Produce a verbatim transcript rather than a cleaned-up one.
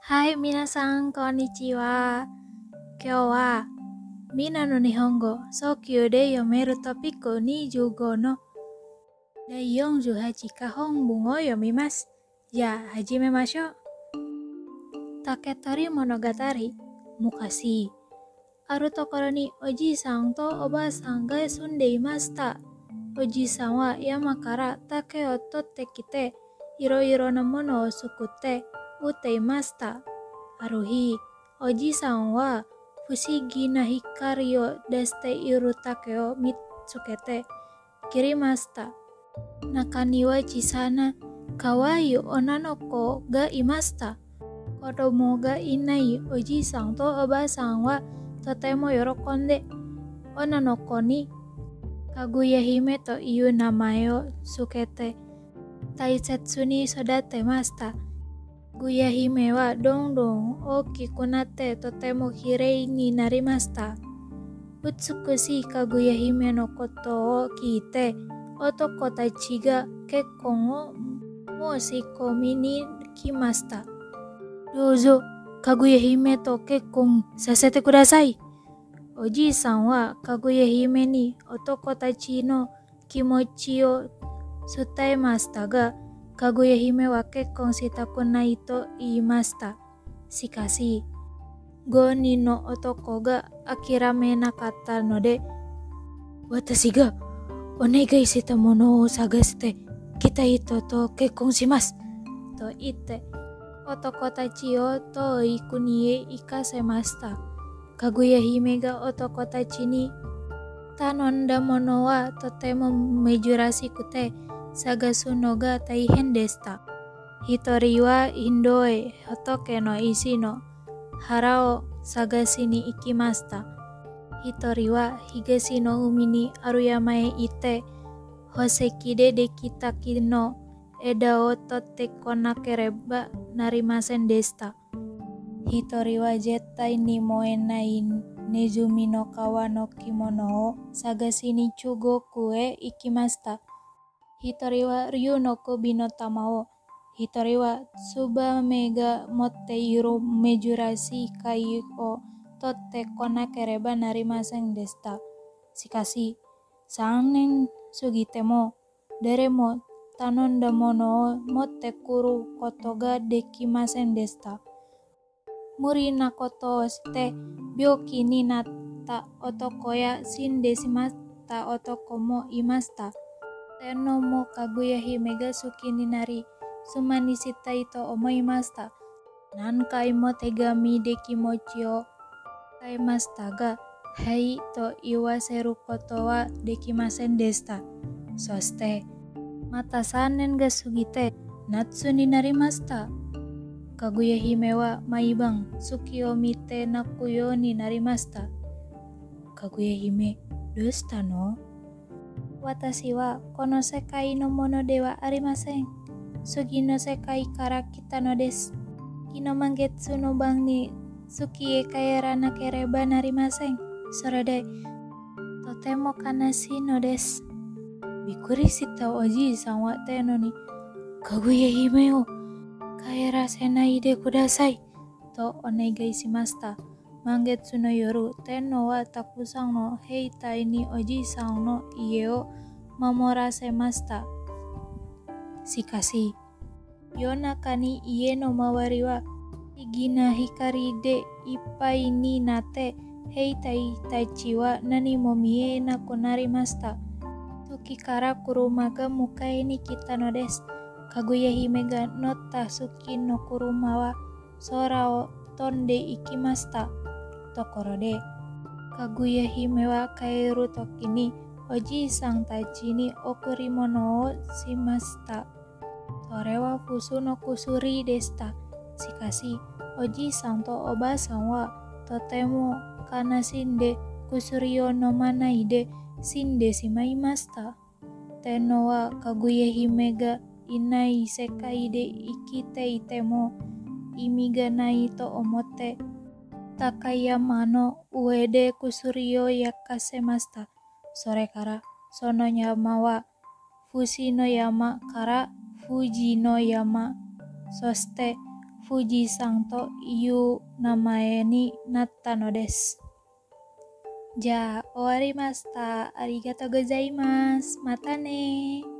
はい、皆さん、こんにちは。今日は、みんなの日本語、早急で読めるトピックにじゅうごのだいよんじゅうはちか本文を読みます。じゃあ、始めましょう。竹取物語、昔。あるところにおじいさんとおばあさんが住んでいました。おじいさんは山から竹を取ってきて、いろいろなものを作って売っていました。ある日、おじいさんは不思議な光を出している竹を見つけて切りました。中には小さな可愛い女の子がいました。子供がいないおじいさんとおばあさんはとても喜んで、女の子にかぐや姫という名前をつけて大切に育てました。かぐや姫はどんどん大きくなってとてもきれいになりました。美しいかぐや姫のことを聞いて、男たちが結婚を申し込みに来ました。どうぞ、かぐや姫と結婚させてください。おじいさんはかぐや姫に男たちの気持ちを伝えましたが、かぐや姫は結婚したくないと言いました。しかし、ごにんの男が諦めなかったので、私がお願いしたものを探してきた人と結婚しますと言って、男たちを遠い国へ行かせました。かぐや姫が男たちに頼んだものはとても珍しくて探すのが大変でした。一人はインドへ仏の石の腹を探しに行きました。一人は東の海にある山へ行って宝石でできた木の枝を取ってこなければなりませんでした。一人は絶対に燃えないネズミの皮の着物を探しに中国へ行きました。一人は竜の首の玉を、一人はツバメが持っている珍しい貝を取ってこなければなりませんでした。しかし、三年過ぎても誰も頼んだものを持ってくることができませんでした。無理なことをして病気になった男や死んでしまった男もいました。天皇もかぐや姫が好きになり、妻にしたいと思いました。何回も手紙で気持ちを伝えましたが、はいと言わせることはできませんでした。そして、またさんねんが過ぎて夏になりました。かぐや姫は毎晩月を見て泣くようになりました。かぐや姫、どうしたの？私はこの世界のものではありません。次の世界から来たのです。昨日満月の晩に月へ帰らなければなりません。それで、とても悲しいのです。びっくりしたおじいさんは天皇に、かぐや姫を帰らせないでくださいとお願いしました。満月の夜、天皇はたくさんの兵隊におじいさんの家を守らせました。しかし、夜中に家の周りは不思議な光でいっぱいになって、兵隊たちは何も見えなくなりました。月から車が迎えに来たのです。かぐや姫が乗った月の車は空を飛んで行きました。ところで、かぐや姫は帰るときにおじいさんたちに贈り物をしました。それは普通の薬でした。しかし、おじいさんとおばあさんはとても悲しんで薬を飲まないで死んでしまいました。天皇はかぐや姫がいない世界で生きていても意味がないと思って、高い山の上で薬を焼かせました。それからその山は富士の山から富士の山、そして Fuji sang to yu namae ni natta no desu. Ja, owarimashita. Arigatou gozaimasu. Mata ne.